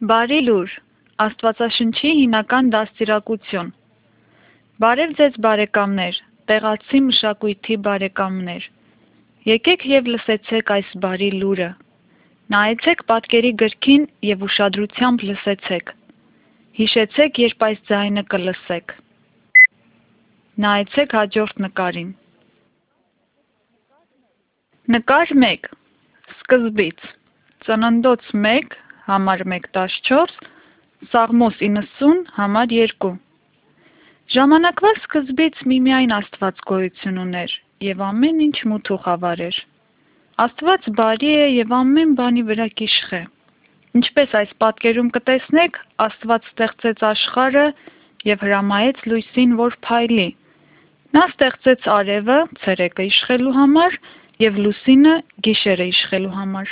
Բարի լուր, Աստվածաշնչի հիմնական դաստիարակություն։ Բարև ձեզ բարեկամներ, տեղացի մշակույթի բարեկամներ։ Եկեք և լսեցեք այս բարի լուրը։ Նայեցեք պատկերի գրքին և ուշադրությամբ լսեցեք։ Հիշեցեք, երբ այս ձայնը կլսեք։ Նայեցեք հաջորդ նկարին։ Նկար 1. Սկզբից։ Ծննդոց 1, համար 1:14, Սաղմոս 90, համար 2։ Ժամանակվա սկզբից միմիայն Աստված գոյություն ուներ, և ամեն ինչ մութ ու խավար էր։ Աստված բարի է և ամեն բանի վրա կիշխ է։ Ինչպես այս պատկերում կտեսնեք, Աստված ստեղծեց աշխարհը և հրամայեց լույսին, որ փայլի։ Նա ստեղծեց արևը, ցերեկը իշխելու համար, և լուսինը, գիշերը իշխելու համար։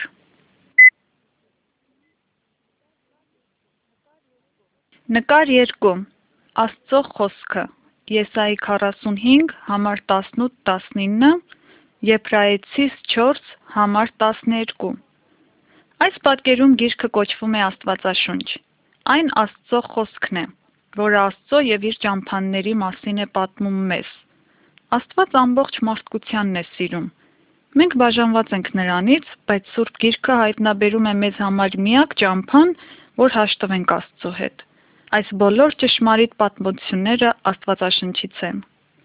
Նկար 2. Աստծո խոսքը։ Եսայի 45, համար 18-19, Եբրայեցիս 4, համար 12։ Այս պատկերում գիրքը կոչվում է Աստվածաշունչ։ Այն Աստծո խոսքն է, որը Աստծո և իր ճամփաների մասին է պատմում մեզ։ Աստված ամբողջ մարդկությանն է սիրում։ Մենք բաժանված ենք նրանից, բայց Սուրբ Գիրքը հայտնաբերում է մեզ համար միակ ճամփան, որ հաշտվենք Աստծո հետ։ Այս բոլոր ճշմարիտ պատմությունները Աստվածաշնչից են։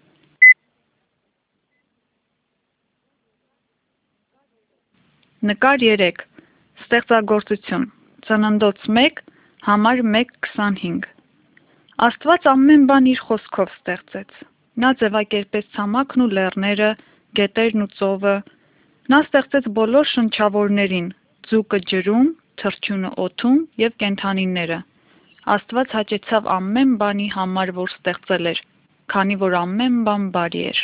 Նկար 3. Ստեղծագործություն։ Ծննդոց 1, համար 1:25։ Աստված ամեն բան իր խոսքով ստեղծեց։ Նա ձևակերպեց ցամաքն ու լեռները, գետերն ու ծովը։ Նա ստեղծեց բոլոր շնչավորներին՝ ձուկը ջրում, թռչյունը օդում և կենդանիները։ Աստված հաճեցավ ամեն բանի համար, որ ստեղծել էր, քանի որ ամեն բան բարի էր։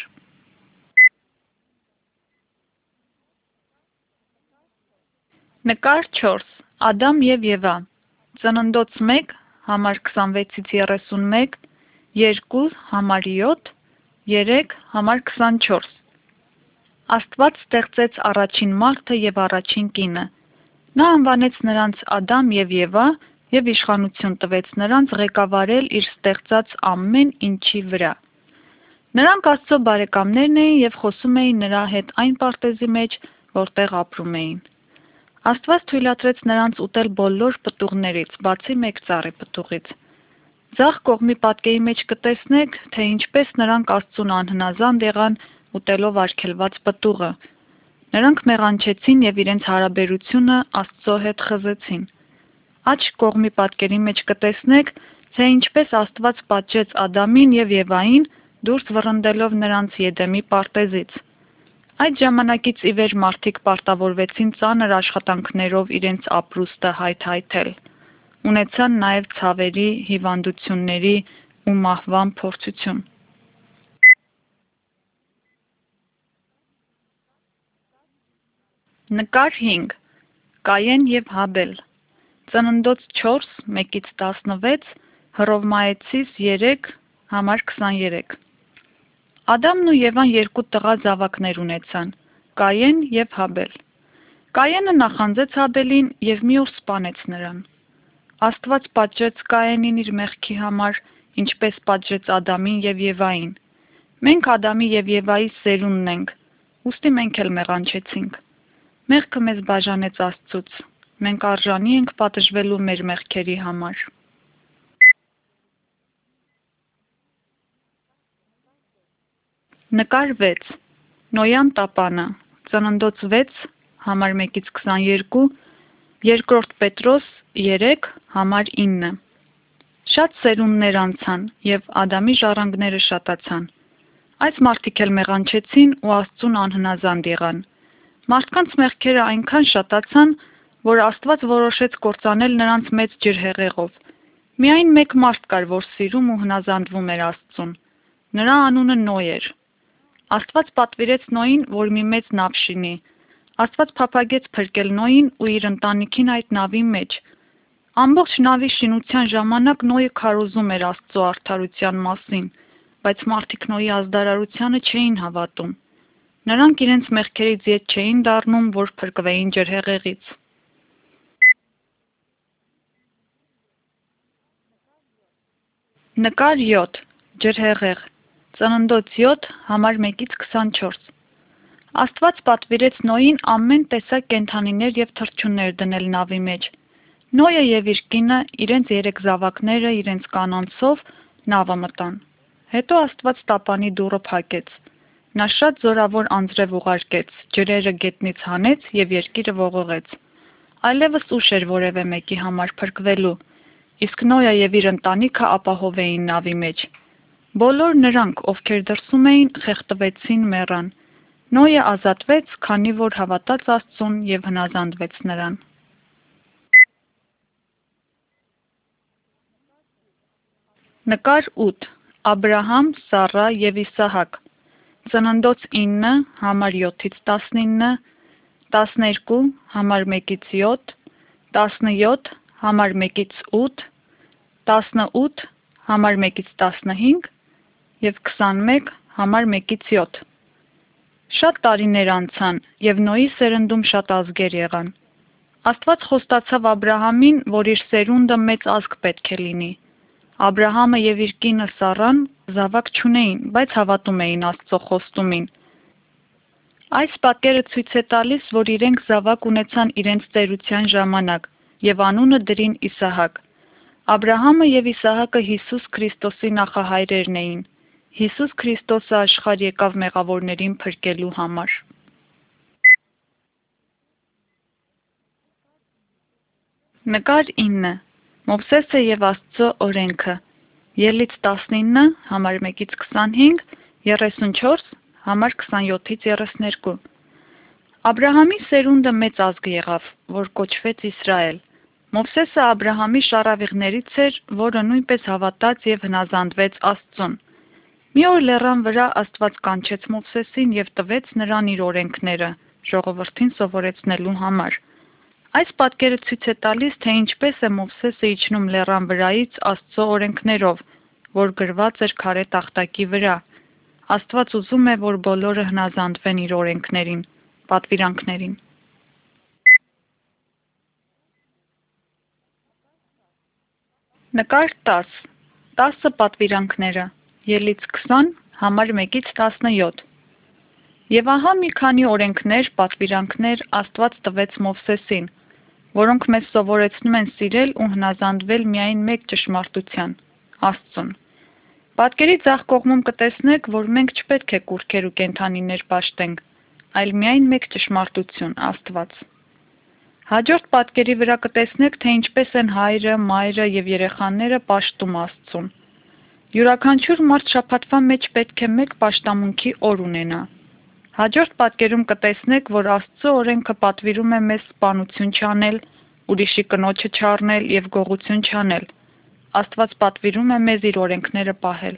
Նկար 4. Ադամ և Եվա։ Ծննդոց 1, համար 26-31, 2, համար 7, 3, համար 24։ Աստված ստեղծեց առաջին մարդը և առաջին կինը։ Նա անվանեց նրանց Ադամ և Եվա և իշխանություն տվեց նրանց ղեկավարել իր ստեղծած ամեն ինչի վրա։ Նրանք Աստծո բարեկամներն էին և խոսում էին նրա հետ այն պարտեզի մեջ, որտեղ ապրում էին։ Աստված թույլատրեց նրանց ուտել բոլոր պտուղներից, բացի մեկ ծառի պտուղից։ Ձախ կողմի պատկերի մեջ կտեսնեք, թե ինչպես նրանք Աստծուն անհնազանդ եղան ուտելով արգելված պտուղը։ Նրանք մեղանչեցին և իրենց հարաբերությունը Աստծո հետ խզեցին։ Աջ կողմի պատկերի մեջ կտեսնեք, թե ինչպես Աստված պատժեց Ադամին և Եվային, դուրս վռնդելով նրանց Եդեմի պարտեզից։ Այդ ժամանակից ի վեր մարդիկ պարտավորվեցին ծանր աշխատանքներով իրենց ապրուստը հայթայթել։ Ունեցան նաև ցավերի, հիվանդությունների ու մահվան փորձություն։ Նկար 5. Կայեն և Հաբել։ Ծննդոց 4, 1-16, Հռովմայեցիս 3, համար 23։ Ադամն ու Եվան երկու տղա զավակներ ունեցան՝ Կայեն և Հաբել։ Կայենը նախանձեց Հաբելին և մի օր սպանեց նրան։ Աստված պատժեց Կայենին իր մեղքի համար, ինչպես պատժեց Ադամին և Եվային։ Մենք Ադամի և Եվայի սերունդն ենք, ուստի մենք էլ մեղանչեցինք։ Մեղքը մեզ բաժանեց Աստծուց։ Մենք արժանի ենք պատժվելու մեր մեղքերի համար։ Նկար 6. Նոյան տապանը։ Ծննդոց 6, համար 1-22, 2 Պետրոս 3, համար 9։ Շատ սերունդներ անցան, և Ադամի ժառանգները շատացան։ Այս մարդիկ էլ մեղանչեցին ու Աստծուն անհնազանդ եղան։ Մարդկանց մեղքերը այնքան շատացան, որ Աստված որոշեց կործանել նրանց մեծ ջրհեղեղով։ Միայն մեկ մարդ կար, որ սիրում ու հնազանդվում էր Աստծուն։ Նրա անունը Նոյ էր։ Աստված պատվիրեց Նոյին, որ մի մեծ նավ շինի։ Աստված փափագեց փրկել Նոյին ու իր ընտանիքին այդ նավի մեջ։ Ամբողջ նավի շինության ժամանակ Նոյը քարոզում էր Աստծո արդարության մասին, բայց մարդիկ Նոյի ազդարարությանը չէին հավատում։ Նրանք իրենց մեղքերից ետ չէին դառնում, որ փրկվեին ջրհեղեղից։ Նկար 7. Ջրհեղեղ. Ծննդոց 7, համար 1-ից 24. Աստված պատվիրեց Նոյին ամեն տեսակ կենդանիներ և թռչուններ դնել նավի մեջ։ Նոյը և իր կինը, իրենց 3 զավակները, իրենց կանանցով նավը մտան։ Հետո Աստված տապանի դուռը փակեց։ Նա շատ զորավոր անձրև ուղարկեց, ջրերը գետնից հանեց և երկիրը ողողեց։ Այլևս ուշ էր որևէ մեկի համար փրկվելու, իսկ Նոյը և իր ընտանիքը ապահով էին նավի մեջ։ Բոլոր նրանք, ովքեր դրսում էին, խեղդվեցին, մեռան։ Նոյը ազատվեց, քանի որ հավատաց Աստծուն և հնազանդվեց նրան։ Նկար 8. Աբրահամ, Սառա և Իսահակ. Ծննդոց 9, համար 7-ից 19, 12, համար 1-ից 7, 17, համար 1-ից 8, 18, համար 1-ից 15 և 21, համար 1-ից 7։ Շատ տարիներ անցան, և Նոյի սերնդում շատ ազգեր եղան։ Աստված խոստացավ Աբրահամին, որ իր սերունդը մեծ ազգ պետք է լինի։ Աբրահամը և իր կինը Սառան զավակ չունեին, բայց հավատում էին Աստծո խոստումին։ Այս պատկերը ցույց է տալիս, որ իրենք զավակ ունեցան իրենց ծերության ժամանակ, և անունը դրին Իսահակ։ Աբրահամը և Իսահակը Հիսուս Քրիստոսի նախահայրերն էին։ Հիսուս Քրիստոսը աշխարհ եկավ մեղավորներին փրկելու համար։ Նկար 9. Մովսեսը և Աստծո օրենքը. Ելից 19, համար 1-ից 25, 34, համար 27-ից 32։ Աբրահամի սերունդը մեծ ազգ եղավ, որ կոչվեց Իսրայել։ Մովսեսը Աբրահամի շառավիղներից էր, որը նույնպես հավատաց և հնազանդվեց Աստծուն։ Մի օր լեռան վրա Աստված կանչեց Մովսեսին և տվեց նրան իր օրենքները, ժողովրդին սովորեցնելու համար։ Այս պատկերը ցույց է տալիս, թե ինչպես է Մովսեսը իջնում լեռան վրայից Աստծո օրենքներով, որ գրված էր քարե տախտակի վրա։ Աստված ուզում է, որ բոլորը հնազանդվեն իր օրենքներին, պատվիրանքներին։ Նկար 10. 10 պատվիրանքները. Ելից 20, համար 1-ից 17։ Եվ ահա մի քանի օրենքներ, պատվիրանքներ Աստված տվեց Մովսեսին, որոնք մեզ սովորեցնում են սիրել ու հնազանդվել միայն մեկ ճշմարտության՝ Աստծուն։ Պատկերի ձախ կողմում կտեսնեք, որ մենք չպետք է կուռքեր ու կենդանիներ պաշտենք, այլ միայն մեկ ճշմարտություն՝ Աստված։ Հաջորդ պատկերի վրա կտեսնեք, թե ինչպես են հայրը, մայրը և երեխաները պաշտում Աստծուն։ Յուրաքանչյուր մարդ շաբաթվա մեջ պետք է մեկ պաշտամունքի օր ունենա։ Հաջորդ պատկերում կտեսնեք, որ Աստծո օրենքը պատվիրում է մեզ սպանություն չանել, ուրիշի կնոջը չառնել և գողություն չանել։ Աստված պատվիրում է մեզ իր օրենքները պահել։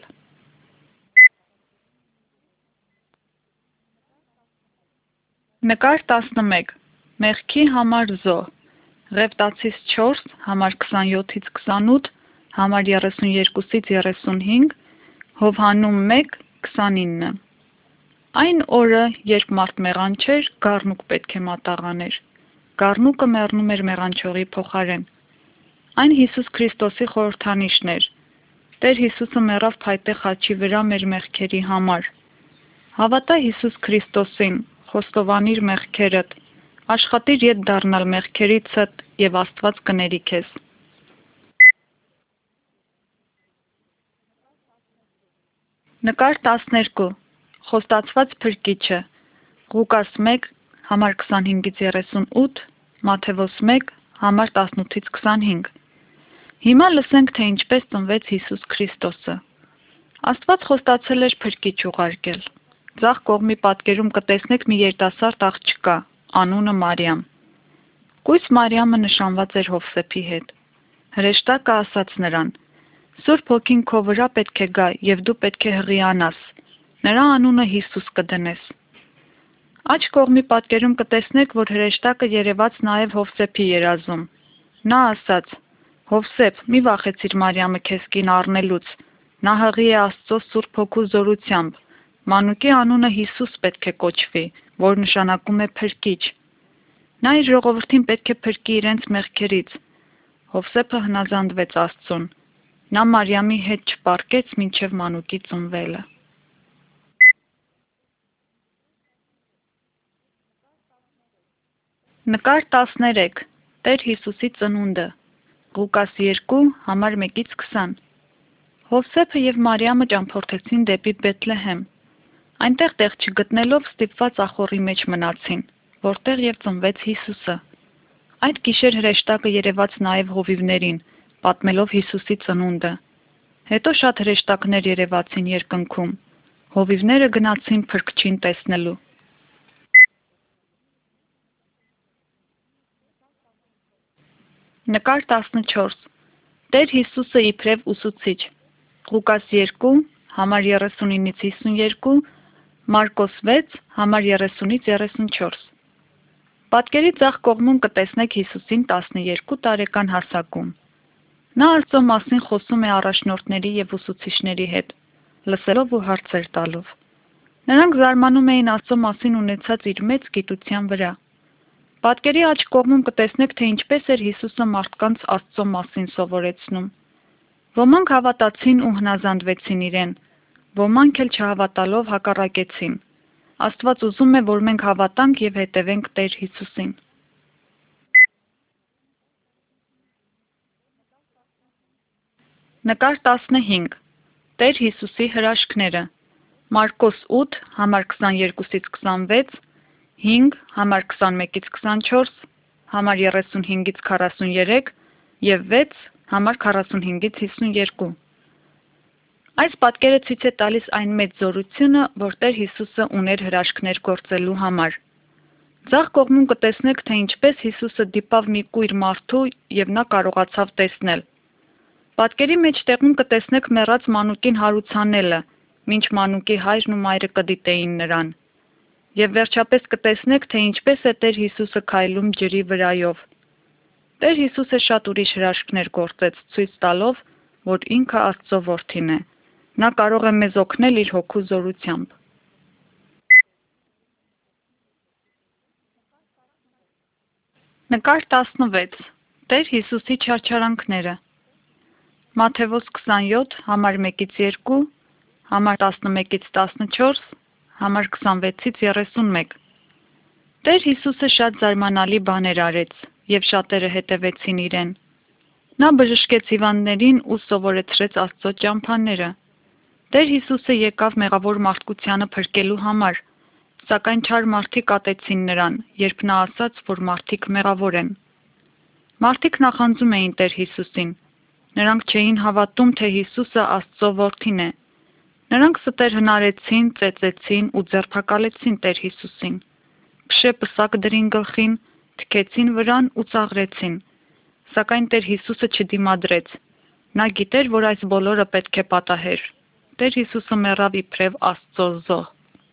Նկար 11. Մեղքի համար զոհ. Ղևտացիս 4, համար 27-ից 28, համար 32-ից 35, Հովհաննում 1, 29։ Այն օրը, երբ մարդ մեղանչեր, գառնուկ պետք է մատաղաներ։ Գառնուկը մեռնում էր մեղանչողի փոխարեն։ Այն Հիսուս Քրիստոսի խորհրդանիշն էր։ Տեր Հիսուսը մեռավ փայտե խաչի վրա մեր մեղքերի համար։ Հավատա Հիսուս Քրիստոսին, խոստովանիր մեղքերդ, աշխատիր ետ դառնալ մեղքերիցդ և Աստված կների քեզ։ Նկար 12. Խոստացված փրկիչը. Ղուկաս 1, համար 25-ից 38, Մատթեոս 1, համար 18-ից 25։ Հիմա լսենք, թե ինչպես ծնվեց Հիսուս Քրիստոսը։ Աստված խոստացել էր փրկիչ ուղարկել։ Ձախ կողմի պատկերում կտեսնեք մի երիտասարդ աղջկա, անունը Մարիամ։ Կույս Մարիամը նշանված էր Հովսեփի հետ։ Հրեշտակը ասաց նրան. «Սուրբ Հոգին քո վրա պետք է գա, և դու պետք է հղիանաս։ Նրա անունը Հիսուս կդնես»։ Աջ կողմի պատկերում կտեսնեք, որ հրեշտակը երևաց նաև Հովսեփի երազում։ Նա ասաց. «Հովսեփ, մի վախեցիր Մարիամը քեզ կին առնելուց։ Նա հղի է Աստծո Սուրբ Հոգու զորությամբ։ Մանուկի անունը Հիսուս պետք է կոչվի, որ նշանակում է փրկիչ։ Նա իր ժողովրդին պետք է փրկի իրենց մեղքերից»։ Հովսեփը հնազանդվեց Աստծուն։ Նա Մարիամի հետ չպարկեց մինչև մանուկի ծնվելը։ Նկար 13. Տեր Հիսուսի ծնունդը։ Ղուկաս 2, համար 1-20։ Հովսեփը և Մարիամը ճամփորդեցին դեպի Բեթլեհեմ։ Այնտեղ տեղ չգտնելով ստիպված ախոռի մեջ մնացին, որտեղ և ծնվեց Հիսուսը։ Այդ գիշեր հրեշտակը երևաց նաև հովիվներին, պատմելով Հիսուսի ծնունդը։ Հետո շատ հրեշտակներ երևացին երկնքում։ Հովիվները գնացին Փրկչին տեսնելու։ Նկար 14. Տեր Հիսուսը իբրև ուսուցիչ։ Ղուկաս 2, համար 39-52, Մարկոս 6, համար 30-34։ Պատկերի ձախ կողմում կտեսնեք Հիսուսին 12 տարեկան հասակում։ Նա Աստծո մասին խոսում է առաջնորդների և ուսուցիչների հետ, լսելով ու հարցեր տալով։ Նրանք զարմանում էին Աստծո մասին ունեցած իր մեծ գիտության վրա։ Պատկերի աջ կողմում կտեսնեք, թե ինչպես էր Հիսուսը մարդկանց Աստծո մասին սովորեցնում։ Ոմանք հավատացին ու հնազանդվեցին իրեն, ոմանք էլ չհավատալով հակառակեցին։ Աստված ուզում է, որ մենք հավատանք և հետևենք Տեր Հիսուսին։ Նկար 15. Տեր Հիսուսի հրաշքները։ Մարկոս 8, համար 22-26, 5, համար 21-24, համար 35-43 և 6, համար 45-52։ Այս պատկերը ցույց է տալիս այն մեծ զորությունը, որ Տեր Հիսուսը ուներ հրաշքներ գործելու համար։ Ձախ կողմում կտեսնեք, թե ինչպես Հիսուսը դիպավ մի կույր մարդու և նա կարողացավ տեսնել։ Պատկերի մեջտեղում կտեսնեք մեռած մանուկին հարուցանելը, մինչ մանուկի հայրն ու մայրը կդիտեին նրան։ Եվ վերջապես կտեսնեք, թե ինչպես է Տեր Հիսուսը քայլում ջրի վրայով։ Տեր Հիսուսը շատ ուրիշ հրաշքներ գործեց, ցույց տալով, որ ինքը Աստծո որդին է։ Նա կարող է մեզ օգնել իր հոգու զորությամբ։ Նկար 16. Տեր Հիսուսի չարչարանքները։ Մատթեոս 27, համար 1-2, համար 11-14, համար 26-31։ Տեր Հիսուսը շատ զարմանալի բաներ արեց, և շատերը հետևեցին իրեն։ Նա բժշկեց հիվանդներին ու սովորեցրեց Աստծո ճամփաները։ Տեր Հիսուսը եկավ մեղավոր մարդկությանը փրկելու համար, սակայն չար մարդիկ ատեցին նրան, երբ նա ասաց, որ մարդիկ մեղավոր են։ Մարդիկ նախանձում էին Տեր Հիսուսին։ Նրանք չէին հավատում, թե Հիսուսը Աստծո որդին է։ Նրանք ստեր հնարեցին, ծեծեցին ու ձերբակալեցին Տեր Հիսուսին։ Փշե պսակ դրին գլխին, թքեցին վրան ու ծաղրեցին։ Սակայն Տեր Հիսուսը չդիմադրեց։ Նա գիտեր, որ այս բոլորը պետք է պատահեր։ Տեր Հիսուսը մեռավ իբրև Աստծո զոհ։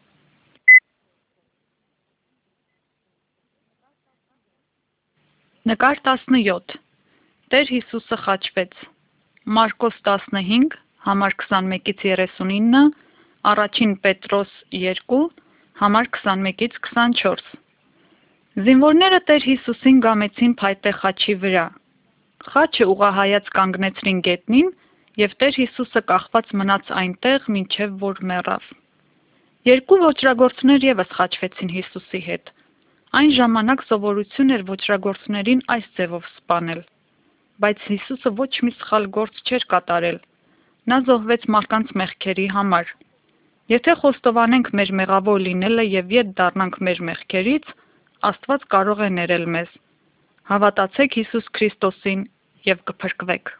Նկար 17. Տեր Հիսուսը խաչվեց։ Մարկոս 15, համար 21-39, առաջին Պետրոս 2, համար 21-24։ Զինվորները Տեր Հիսուսին գամեցին փայտե խաչի վրա։ Խաչը ուղղահայաց կանգնեցրին գետնին, և Տեր Հիսուսը կախված մնաց այնտեղ, մինչև որ մեռավ։ Երկու ոճրագործներ ևս խաչվեցին Հիսուսի հետ։ Այն ժամանակ սովորություն էր ոճրագործներին այս ձևով սպանել։ Բայց Հիսուսը ոչ մի սխալ գործ չէր կատարել։ Նա զոհվեց մարդկանց մեղքերի համար։ Եթե խոստովանենք մեր մեղավոր լինելը և ետ դառնանք մեր մեղքերից, Աստված կարող է ներել մեզ։ Հավատացեք Հիսուս Քրիստոսին և կփրկվեք։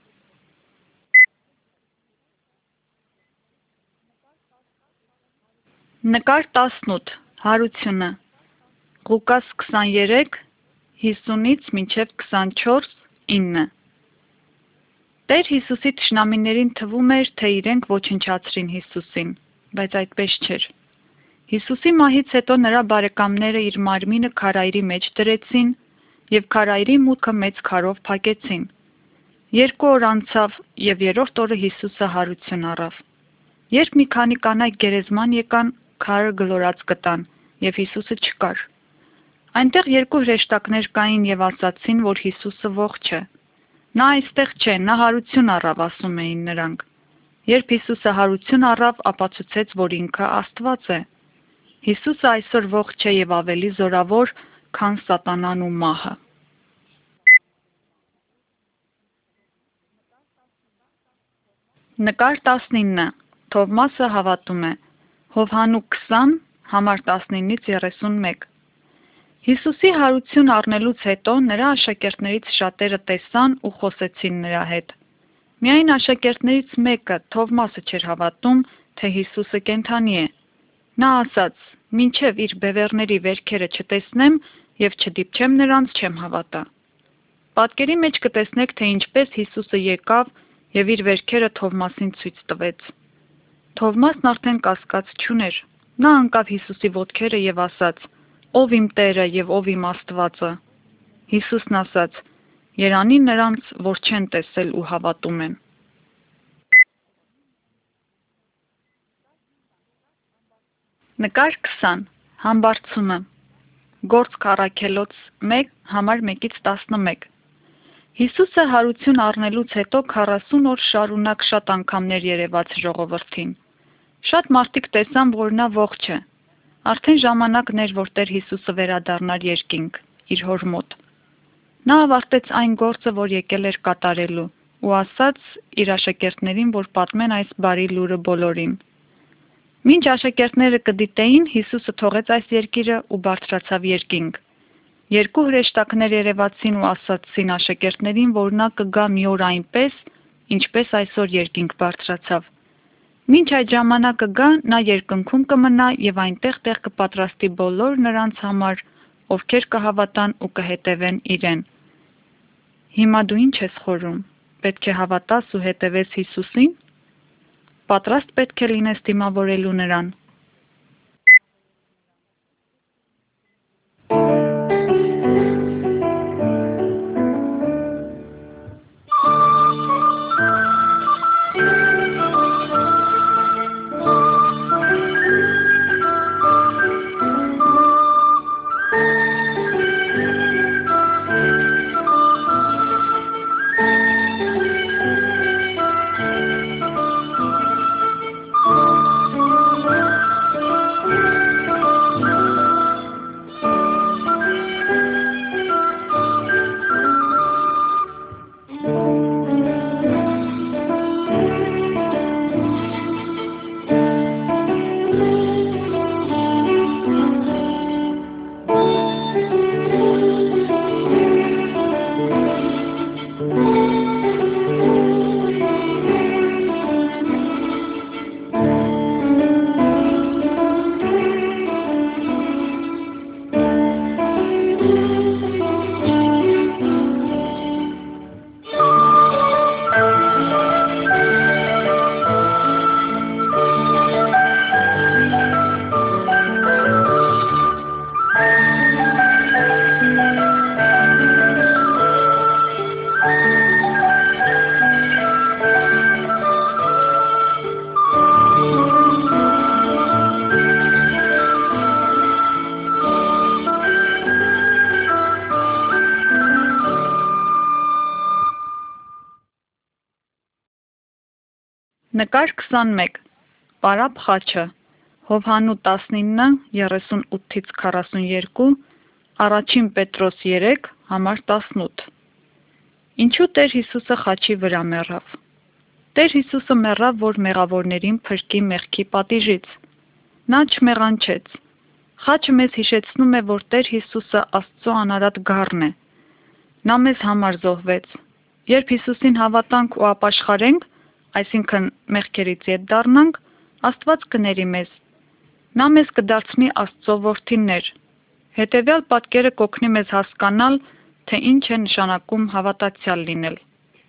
Նկար 18. Հարությունը։ Ղուկաս 23, 50-ից մինչև 24, 9։ Տեր Հիսուսի թշնամիներին թվում էր, թե իրենք ոչնչացրին Հիսուսին, բայց այդպես չէր։ Հիսուսի մահից հետո նրա բարեկամները իր մարմինը քարայրի մեջ դրեցին և քարայրի մուտքը մեծ քարով փակեցին։ 2 օր անցավ և 3-րդ օրը Հիսուսը հարություն առավ։ Երբ մի քանի կանայք գերեզման եկան, քարը գլորած գտան, և Հիսուսը չկար։ Այնտեղ 2 հրեշտակներ կային և ասացին, որ Հիսուսը ողջ է։ Նա այստեղ չէ, նա հարություն առավ, ասում էին նրանք։ Երբ Հիսուսը հարություն առավ, ապացուցեց, որ ինքը Աստված է։ Հիսուսը այսօր ողջ է եւ ավելի զորավոր, քան սատանան ու մահը։ Նկար 19. Թովմասը հավատում է։ Հովհաննես 20, համար 19-ից 31։ Հիսուսի հարություն առնելուց հետո նրա աշակերտներից շատերը տեսան ու խոսեցին նրա հետ։ Միայն աշակերտներից մեկը, Թովմասը, չէր հավատում, թե Հիսուսը կենդանի է։ Նա ասաց. «Մինչև իր բևեռների վերքերը չտեսնեմ եւ չդիպչեմ նրանց, չեմ հավատա»։ Պատկերի մեջ կտեսնեք, թե ինչպես Հիսուսը եկավ եւ իր վերքերը Թովմասին ցույց տվեց։ Թովմասն արդեն կասկած չուներ։ Նա ընկավ Հիսուսի ոտքերը եւ ասաց. «Ով իմ Տերը եւ ով իմ Աստվածը»։ Հիսուսն ասաց. «Երանի նրանց, որ չեն տեսել ու հավատում են»։ Նկար 20. Համբարձումը։ Գործք առաքելոց 1, համար 1-11։ Հիսուսը հարություն առնելուց հետո 40 օր շարունակ շատ անգամներ երևաց ժողովրդին։ Շատ մարդիկ տեսան, որ նա ողջ է։ Արդեն ժամանակն էր, որ Տեր Հիսուսը վերադառնար երկինք, իր հոր մոտ։ Նա ավարտեց այն գործը, որ եկել էր կատարելու, ու ասաց իր աշակերտներին, որ պատմեն այս բարի լուրը բոլորին։ Մինչ աշակերտները կդիտեին, Հիսուսը թողեց այս երկիրը ու բարձրացավ երկինք։ Երկու հրեշտակներ երևացին ու ասացին աշակերտներին, որ նա կգա մի օր այնպես, ինչպես այսօր երկինք բարձրացավ։ Մինչ այդ ժամանակը գա, նա երկնքում կմնա եւ այնտեղ տեղ կպատրաստի բոլոր նրանց համար, ովքեր կհավատան ու կհետևեն իրեն։ Հիմա դու ինչ ես խորում։ Պետք է հավատաս ու հետևես Հիսուսին։ Պատրաստ պետք է լինես դիմավորելու նրան։ Նկար 21. Պարապ խաչը։ Հովհաննես 19, 38-ից 42, Առաջին Պետրոս 3, համար 18։ Ինչու Տեր Հիսուսը խաչի վրա մեռավ։ Տեր Հիսուսը մեռավ, որ մեղավորներին փրկի մեղքի պատիժից։ Նա չմեղանչեց։ Խաչը մեզ հիշեցնում է, որ Տեր Հիսուսը Աստծո անարատ գառն է։ Նա մեզ համար զոհվեց։ Երբ Հիսուսին հավատանք ու ապաշխարենք, այսինքն մեղքերից ետ դառնանք, Աստված կների մեզ։ Նա մեզ կդարձնի Աստծո որդիներ։ Հետևյալ պատկերը կօգնի մեզ հասկանալ, թե ինչ է նշանակում հավատացյալ լինել։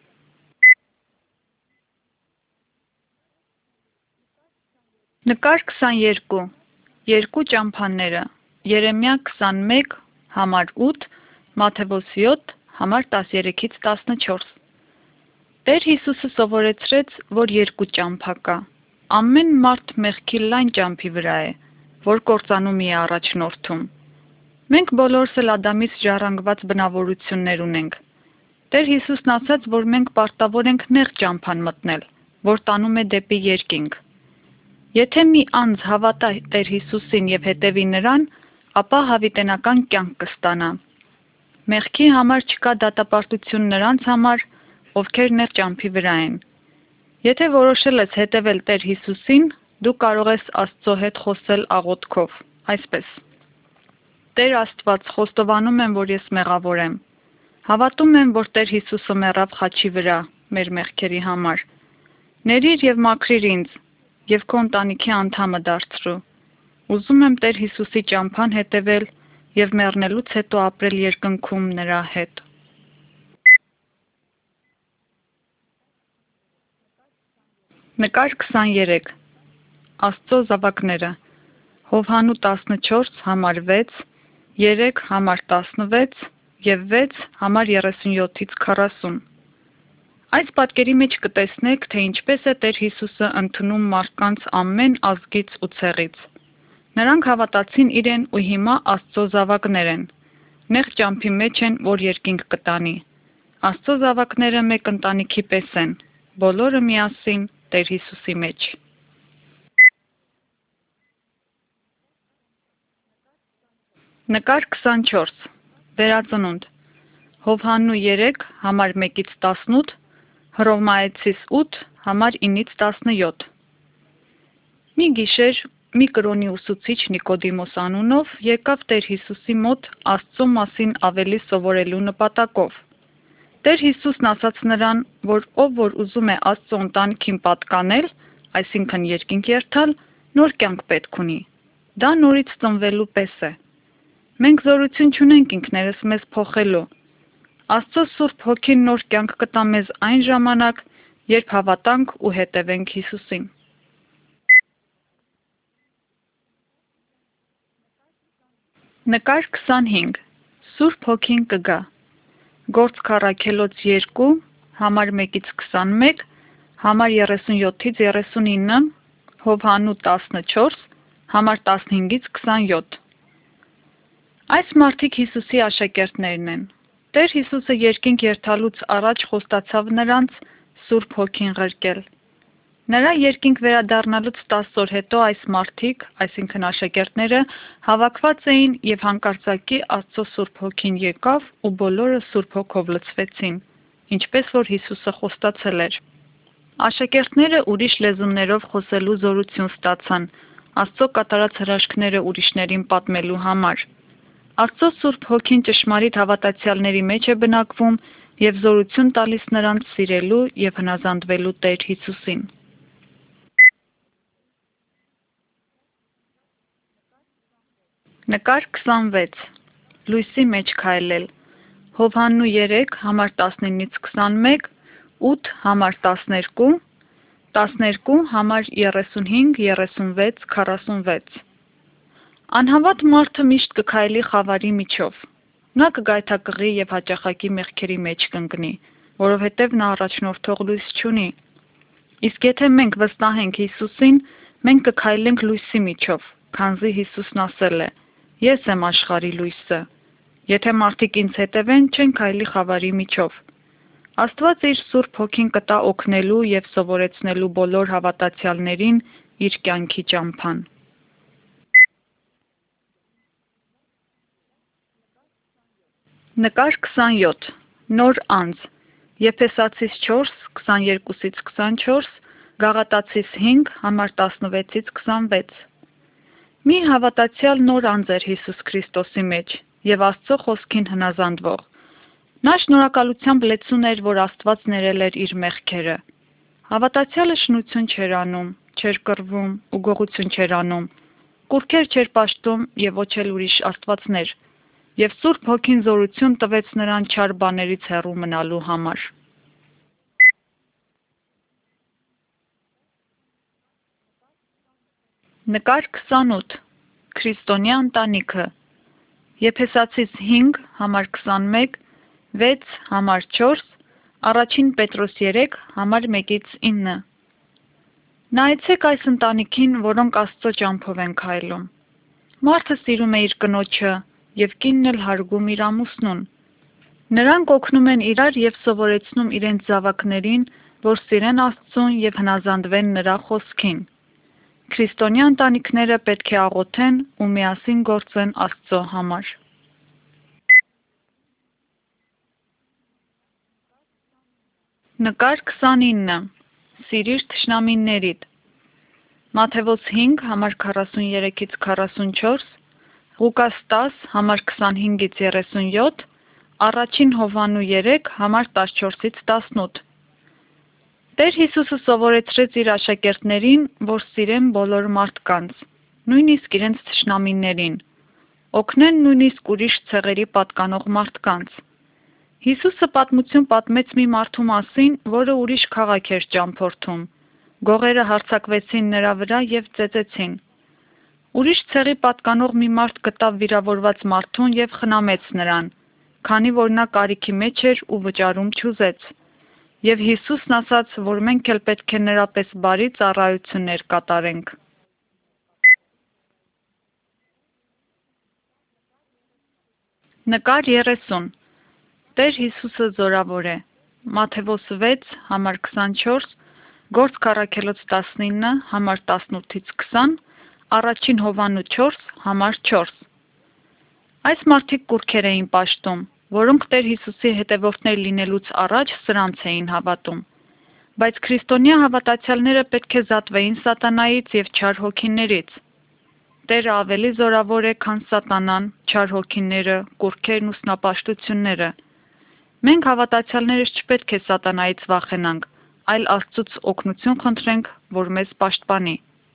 Նկար 22. Երկու ճամփաները։ Երեմիա 21, համար 8, Մատթեոս 7, համար 13-ից 14։ Տեր Հիսուսը սովորեցրեց, որ երկու ճամփա կա։ Ամեն մարդ մեղքի լայն ճամփի վրա է, որ կործանումի է առաջնորդում։ Մենք բոլորս էլ Ադամից ժառանգված բնավորություններ ունենք։ Տեր Հիսուսն ասաց, որ մենք պարտավոր ենք նեղ ճամփան մտնել, որ տանում է դեպի երկինք։ Եթե մի անձ հավատա Տեր Հիսուսին եւ հետևի նրան, ապա հավիտենական կյանք կստանա։ Մեղքի համար չկա դատապարտություն նրանց համար, ովքեր նեղ ճամփի վրա են։ Եթե որոշել ես հետևել Տեր Հիսուսին, դու կարող ես Աստծո հետ խոսել աղոթքով, այսպես. Տեր Աստված, խոստովանում եմ, որ ես մեղավոր եմ։ Հավատում եմ, որ Տեր Հիսուսը մեռավ խաչի վրա մեր մեղքերի համար։ Ներիր եւ մաքրիր ինձ եւ քո ընտանիքի անդամը դարձրու։ Ուզում եմ Տեր Հիսուսի ճամփան հետևել եւ մեռնելուց հետո ապրել երկնքում նրա հետ։ Նկար 23 Աստծո զավակները Հովհաննու 14 համար 6 3 համար 16 և 6 համար 37-ից 40 Այս պատկերի մեջ կտեսնեք, թե ինչպես է Տեր Հիսուսը ընդունում մարդկանց ամեն ազգից ու ցեղից։ Նրանք հավատացին իրեն ու հիմա Աստծո զավակներ են։ Նեղ ճամփի մեջ են, որ երկինք կտանի։ Աստծո զավակները մեկ ընտանիքի պես են, բոլորը միասին Տեր Հիսուսի մեջ։ Նկար 24 Վերածնունդ Հովհաննու 3 համար 1-ից 18 Հռոմայեցիս 8 համար 9-ից 17 Մի գիշեր մի կրոնի ուսուցիչ Նիկոդիմոս անունով եկավ Տեր Հիսուսի մոտ Աստծո մասին ավելի սովորելու նպատակով։ Տեր Հիսուսն ասաց նրան, որ ով որ ուզում է Աստծո ընտանիքին պատկանել, այսինքն երկինք երթալ, նոր կյանք պետք ունի։ Դա նորից ծնվելու պես է։ Մենք զորություն չունենք ինքներս մեզ փոխելու։ Աստծո Սուրբ Հոգին նոր կյանք կտա մեզ այն ժամանակ, երբ հավատանք ու հետևենք Հիսուսին։ Նկար 25 Սուրբ Հոգին կգա Գործք առաքելոց 2 համար 1-ից 21 համար 37-ից 39 Հովհաննու 14 համար 15-ից 27 Այս մարդիկ Հիսուսի աշակերտներն են։ Տեր Հիսուսը երկինք երթալուց առաջ խոստացավ նրանց Սուրբ Հոգին ղրկել։ Նրա երկինք վերադառնալուց 10 օր հետո այս մարդիկ, այսինքն աշակերտները, հավաքված էին եւ հանկարծակի Աստծո Սուրբ Հոգին եկավ ու բոլորը Սուրբ Հոգով լցվեցին, ինչպես որ Հիսուսը խոստացել էր։ Աշակերտները ուրիշ լեզուներով խոսելու զորություն ստացան, Աստծո կատարած հրաշքները ուրիշներին պատմելու համար։ Աստծո Սուրբ Հոգին ճշմարիտ հավատացյալների մեջ է բնակվում եւ զորություն տալիս նրանց սիրելու եւ հնազանդվելու Տեր Հիսուսին։ Նկար 26 Լույսի մեջ քայլել Հովհաննու 3 համար 19-ից 21 8 համար 12 12 համար 35 36 46 Անհավատ մարդը միշտ կքայլի խավարի միջով։ Նա կգայթակղի եւ հաճախակի մեղքերի մեջ կընկնի, որովհետեւ նա առաջնորդող լույս չունի։ Իսկ եթե մենք վստահենք Հիսուսին, մենք կքայլենք լույսի միջով, քանզի Հիսուսն ասել է. Ես եմ աշխարհի լույսը։ Եթե մարդիկ ինձ հետևեն, չեն քայլի խավարի միջով։ Աստված իր Սուրբ Հոգին կտա օգնելու եւ սովորեցնելու բոլոր հավատացյալներին իր կյանքի ճամփան։ Նկար 27 Նոր անձ Եփեսացիս 4 22-ից 24 Գաղատացիս 5 համար 16-ից 26 Մի հավատացյալ նոր անձ էր Հիսուս Քրիստոսի մեջ եւ Աստծո խոսքին հնազանդվող։ Նա շնորհակալությամբ լեցուն էր, որ Աստված ներել էր իր մեղքերը։ Հավատացյալը շնություն չէր անում, չէր կռվում ու գողություն չէր անում, կուռքեր չէր պաշտում եւ ոչ էլ ուրիշ աստվածներ, եւ Սուրբ Հոգին զորություն տվեց նրան չար բաներից հեռու մնալու համար։ Նկար 28 Քրիստոնյա ընտանիքը Եփեսացիս 5 համար 21 6 համար 4 Առաջին Պետրոս 3 համար 1-ից 9 Նայեցեք այս ընտանիքին, որոնք Աստծո ճամփով են քայլում։ Մարդը սիրում է իր կնոջը եւ կինն էլ հարգում իր ամուսնուն։ Նրանք օգնում են իրար և սովորեցնում իրենց զավակներին, որ սիրեն Աստծուն և հնազանդվեն նրա խոսքին։ Քրիստոնյա ընտանիքները պետք է աղոթեն ու միասին գործեն Աստծո համար։ Նկար 29. Սիրիր թշնամիներիդ։ Մատթեոս 5, համար 43-44, Ղուկաս 10, համար 25-37, Առաջին Հովհաննու 3, համար 14-18։ Տեր Հիսուսը սովորեցրեց իր աշակերտներին, որ սիրեն բոլոր մարդկանց, նույնիսկ իրենց թշնամիներին, օգնեն նույնիսկ ուրիշ ցեղերի պատկանող մարդկանց։ Հիսուսը պատմություն պատմեց մի մարդու մասին, որը ուրիշ քաղաք էր ճամփորդում։ Գողերը հարձակվեցին նրա վրա և ծեծեցին։ Ուրիշ ցեղի պատկանող մի մարդ գտավ վիրավորված մարդուն և խնամեց նրան, քանի որ նա կարիքի մեջ էր ու վճարում չուզեց։ Եվ Հիսուսն ասաց, որ մենք էլ պետք է նրա պես բարի ծառայություններ կատարենք։ Նկար 30. Տեր Հիսուսը զորավոր է։ Մատթեոս 6, համար 24, Գործք առաքելոց 19, համար 18-20, Առաջին Հովհաննու 4, համար 4։ Այս մարդիկ կուռքեր էին պաշտում, որոնք Տեր Հիսուսի հետևորդներ լինելուց առաջ սրանց էին հավատում։ Բայց քրիստոնյա հավատացյալները պետք է զատվեին սատանայից և չար հոգիներից։ Տերը ավելի զորավոր է, քան սատանան, չար հոգիները, կուռքերն ու սնապաշտությունները։ Մենք հավատացյալներս չպետք է սատանայից վախենանք, այլ Աստծուց օգնություն խնդրենք, որ մեզ պաշտպանի։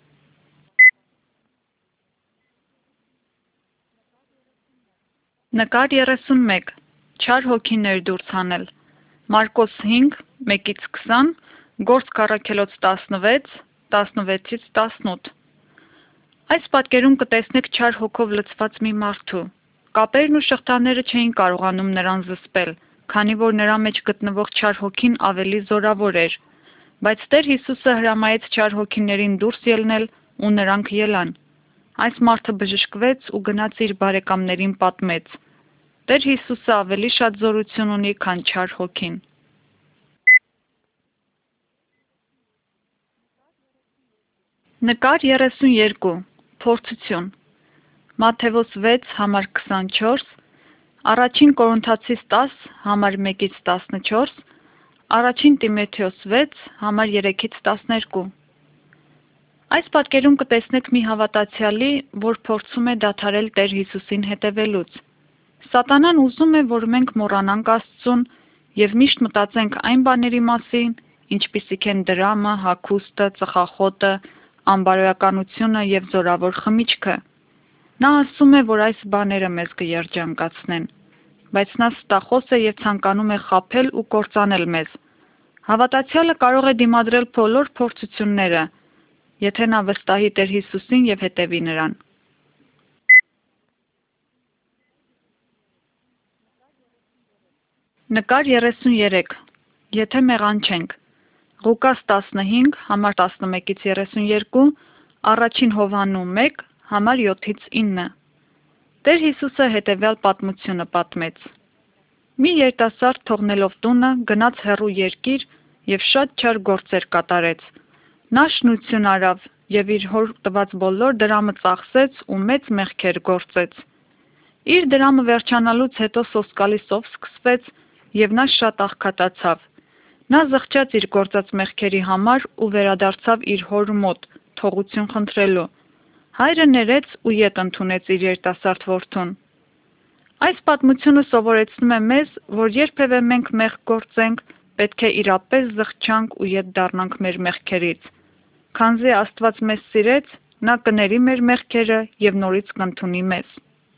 Նկար 31. Չար հոգիներ դուրս հանել։ Մարկոս 5, 1-20, Գործք առաքելոց 16, 16-18։ Այս պատկերում կտեսնեք չար հոգով լցված մի մարդու։ Կապերն ու շղթաները չէին կարողանում նրան զսպել, քանի որ նրա մեջ գտնվող չար հոգին ավելի զորավոր էր։ Բայց Տեր Հիսուսը հրամայեց չար հոգիներին դուրս ելնել ու նրանք ելան։ Այս մարդը բժշկվեց ու գնաց իր բարեկամներին պատմեց։ Տեր Հիսուսը ավելի շատ զորություն ունի, քան չար հոգին։ Նկար 32. Փորձություն։ Մատթեոս 6, համար 24, Առաջին Կորինթացիս 10, համար 1-14, Առաջին Տիմոթեոս 6, համար 3-12։ Այս պատկերում կտեսնեք մի հավատացյալի, որ փորձում է դադարել Տեր Հիսուսին հետևելուց։ Սատանան ուզում է, որ մենք մոռանանք Աստծուն և միշտ մտածենք այն բաների մասին, ինչպիսիք են դրամը, հագուստը, ծխախոտը, անբարոյականությունը և զորավոր խմիչքը։ Նա ասում է, որ այս բաները մեզ կերջանկացնեն, բայց նա ստախոս է և ցանկանում է խաբել ու կործանել մեզ։ Հավատացյալը կարող է դիմադրել բոլոր փորձությունները, եթե նա վստահի Տեր Հիսուսին և հետևի նրան։ Նկար 33. Եթե մեղանչենք։ Ղուկաս 15, համար 11-32, Առաջին Հովհաննու 1, համար 7-9։ Տեր Հիսուսը հետևյալ պատմությունը պատմեց։ Մի երիտասարդ թողնելով տունը գնաց հեռու երկիր և շատ չար գործեր կատարեց։ Նա շնություն արավ և իր հոր տված բոլոր դրամը ծախսեց ու մեծ մեղքեր գործեց։ Իր դրամը վերջանալուց հետո սոսկալի սով սկսվեց և նա շատ աղքատացավ։ Նա զղջաց իր գործած մեղքերի համար ու վերադարձավ իր հոր մոտ, թողություն խնդրելու։ Հայրը ներեց ու ետ ընդունեց իր երիտասարդ որդուն։ Այս պատմությունը սովորեցնում է մեզ, որ երբևէ մենք մեղք գործենք, պետք է իրապես զղջանք ու ետ դառնանք մեր մեղքերից։ Քանզի Աստված մեզ սիրեց, նա կների մեր մեղքերը և նորից կընդունի մեզ։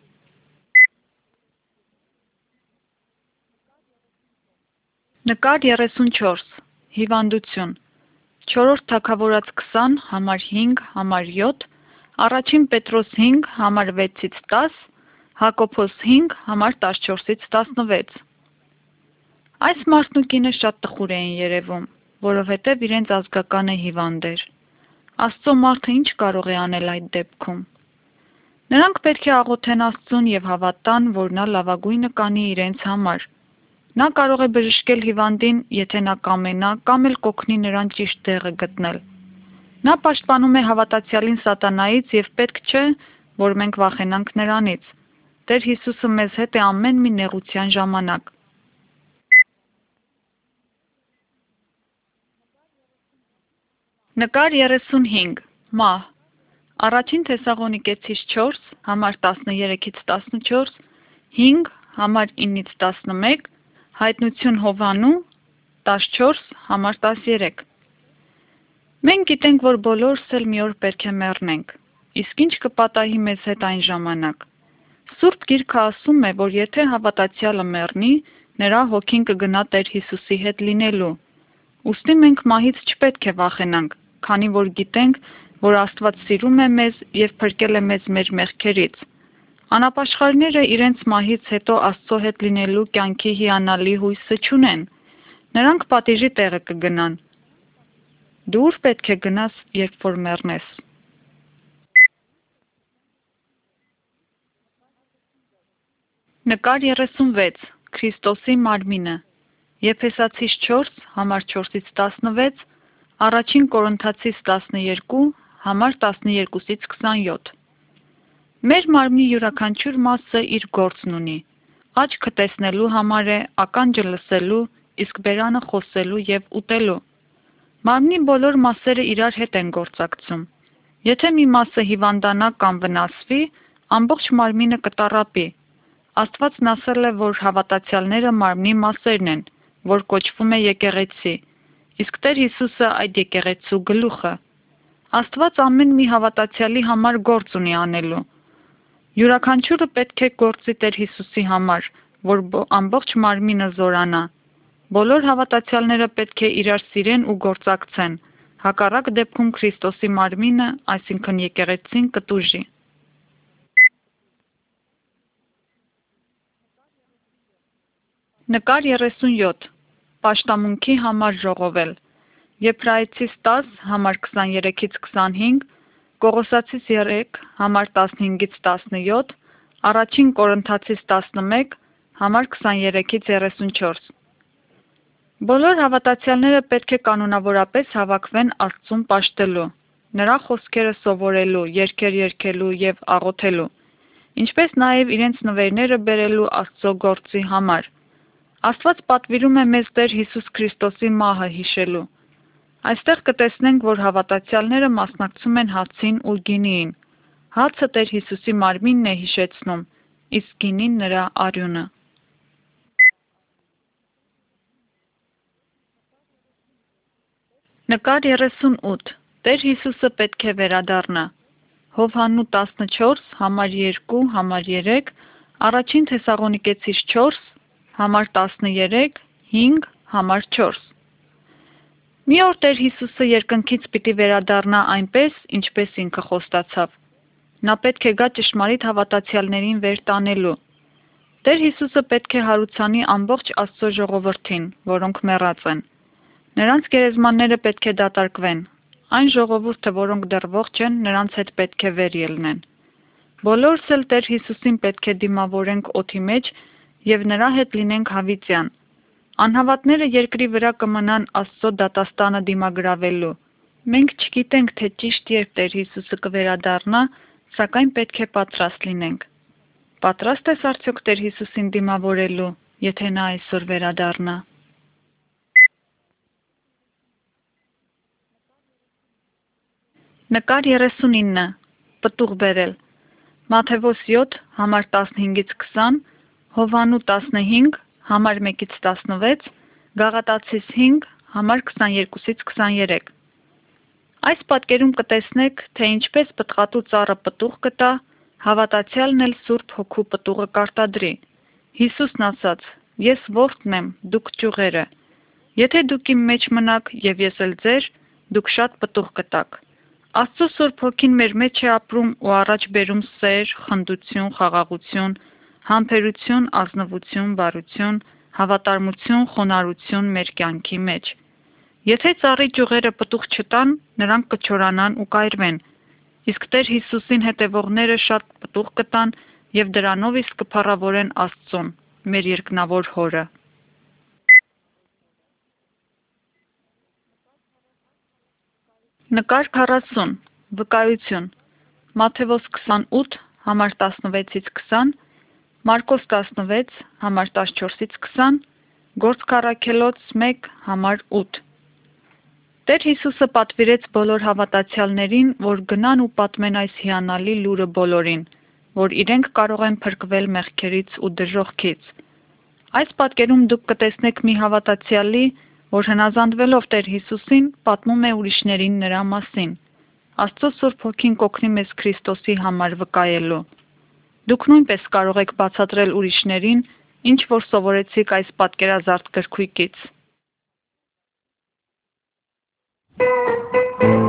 Նկար 34. Հիվանդություն։ 4 Թագավորաց 20, համար 5, համար 7, Առաջին Պետրոս 5, համար 6-10, Հակոբոս 5, համար 14-16։ Այս մարդն ու կինը շատ տխուր էին երևում, որովհետև իրենց ազգականը հիվանդ էր։ Աստծո մարդը ինչ կարող է անել այդ դեպքում։ Նրանք պետք է աղոթեն Աստծուն և հավատան, որ նա լավագույնը կանի իրենց համար։ Նա կարող է բժշկել հիվանդին, եթե նա կամենա, կամ էլ կօգնի նրան ճիշտ տեղը գտնել։ Նա պաշտպանում է հավատացյալին սատանայից և պետք չէ, որ մենք վախենանք նրանից։ Տեր Հիսուսը մեզ հետ է ամեն մի նեղության ժամանակ։ Նկար 35. Մահ։ Առաջին Թեսաղոնիկեցիս 4, համար 13-ից 14, 5, համար 9-ից 11, հայտնություն Հովհաննու 14, համար 13։ Մենք գիտենք, որ բոլորս էլ մի օր պետք է մեռնենք, իսկ ինչ կպատահի մեզ հետ այն ժամանակ։ Սուրբ Գիրքը ասում է, որ եթե հավատացյալը մեռնի, նրա հոգին կգնա Տեր Հիսուսի հետ լինելու։ Ուստի մենք մահից չպետք է վախենանք, քանի որ գիտենք, որ Աստված սիրում է մեզ և փրկել է մեզ մեր մեղքերից։ Անապաշխարները իրենց մահից հետո Աստծո հետ լինելու կյանքի հիանալի հույսը չունեն։ Նրանք պատիժի տեղը կգնան։ Դու ուր պետք է գնաս, երբ որ մեռնես։ Նկար 36. Քրիստոսի մարմինը։ Եփեսացիս 4, համար 4-ից 16, Առաջին Կորինթացիս 12, համար 12-ից 27։ Մեր մարմնի յուրաքանչյուր մասը իր գործն ունի։ Աչքը տեսնելու համար է, ականջը լսելու, իսկ բերանը խոսելու և ուտելու։ Մարմնի բոլոր մասերը իրար հետ են գործակցում։ Եթե մի մասը հիվանդանա կամ վնասվի, ամբողջ մարմինը կտառապի։ Աստվածն ասել է, որ հավատացյալները մարմնի մասերն են, որ կոչվում է եկեղեցի, իսկ Տեր Հիսուսը այդ եկեղեցու գլուխը։ Աստված ամեն մի հավատացյալի համար գործ ունի անելու։ Յուրաքանչյուրը պետք է գործի Տեր Հիսուսի համար, որ ամբողջ մարմինը զորանա։ Բոլոր հավատացյալները պետք է իրար սիրեն ու գործակցեն, հակառակ դեպքում Քրիստոսի մարմինը, այսինքն եկեղեցին, կտուժի։ Նկար 37. Պաշտամունքի համար ժողովել։ Եբրայեցիս 10, համար 23-ից 25, Կողոսացիս 3, համար 15-ից 17, Առաջին Կորինթացիս 11, համար 23-ից 34։ Բոլոր հավատացյալները պետք է կանոնավորապես հավաքվեն Աստծուն պաշտելու, նրա խոսքերը սովորելու, երգեր երգելու և աղոթելու, ինչպես նաև իրենց նվերները բերելու Աստծո գործի համար։ Աստված պատվիրում է մեզ Տեր Հիսուս Քրիստոսի մահը հիշելու։ Այստեղ կտեսնենք, որ հավատացյալները մասնակցում են հացին ու գինիին։ Հացը Տեր Հիսուսի մարմինն է հիշեցնում, իսկ գինին նրա արյունը։ Նկար 38. Տեր Հիսուսը պետք է վերադառնա։ Հովհաննու 14, համար 2, համար 3, Առաջին Թեսաղոնիկեցիս 4, համար 13, 5, համար 4։ Մի օր Տեր Հիսուսը երկնքից պիտի վերադառնա այնպես, ինչպես ինքը խոստացավ։ Նա պետք է գա ճշմարիտ հավատացյալներին վեր տանելու։ Տեր Հիսուսը պետք է հարուցանի ամբողջ Աստծո ժողովրդին, որոնք մեռած են։ Նրանց գերեզմանները պետք է դատարկվեն։ Այն ժողովուրդը, որոնք դեռ ողջ են, նրանց հետ պետք է վեր ելնեն։ Բոլորս էլ Տեր Հիսուսին պետք է դիմավորենք օդի մեջ և նրա հետ լինենք հավիտյան։ Անհավատները երկրի վրա կմնան Աստծո դատաստանը դիմագրավելու։ Մենք չգիտենք, թե ճիշտ երբ Տեր Հիսուսը կվերադառնա, սակայն պետք է պատրաստ լինենք։ Պատրաստ ես արդյոք Տեր Հիսուսին դիմավորելու, եթե նա այսօր վերադառնա։ Նկար 39. Պտուղ բերել։ Մատթեոս 7, համար 15-ից 20, Հովհաննու 15, համար 1-ից 16, Գաղատացիս 5, համար 22-ից 23։ Այս պատկերում կտեսնեք, թե ինչպես պտղատու ծառը պտուղ կտա, հավատացյալն էլ Սուրբ Հոգու պտուղը կարտադրի։ Հիսուսն ասաց. «Ես որդն եմ, դուք ճյուղերը։ Եթե դուք իմ մեջ մնաք և ես էլ ձեր, դուք շատ պտուղ կտաք»։ Աստծո Սուրբ Հոգին մեր մեջ է ապրում ու առաջ բերում սեր, խնդություն, խաղաղություն, համբերություն, ազնվություն, բարություն, հավատարմություն, խոնարհություն մեր կյանքի մեջ։ Եթե ծառի ճյուղերը պտուղ չտան, նրանք կչորանան ու կայրվեն, իսկ Տեր Հիսուսին հետևողները շատ պտուղ կտան և դրանով իսկ կփառավորեն Աստծուն, մեր երկնավոր Հորը։ Նկար 40. Վկայություն. Մատթեոս 28, համար 16-ից 20, Մարկոս 16, համար 14-ից 20, Գործք առաքելոց 1, համար 8։ Տեր Հիսուսը պատվիրեց բոլոր հավատացյալներին, որ գնան ու պատմեն այս հիանալի լուրը բոլորին, որ իրենք կարող են փրկվել մեղքերից ու դժոխքից։ Այս պատկերում դուք կտեսնեք մի հավատացյալի, որ հնազանդվելով Տեր Հիսուսին, պատմում է ուրիշներին նրա մասին։ Աստծո Սուրբ Հոգին կօգնի մեզ Քրիստոսի համար վկայելու։ Դուք նույնպես կարող եք բացատրել ուրիշներին, ինչ որ սովորեցիք այս պատկերազարդ գրքույկից։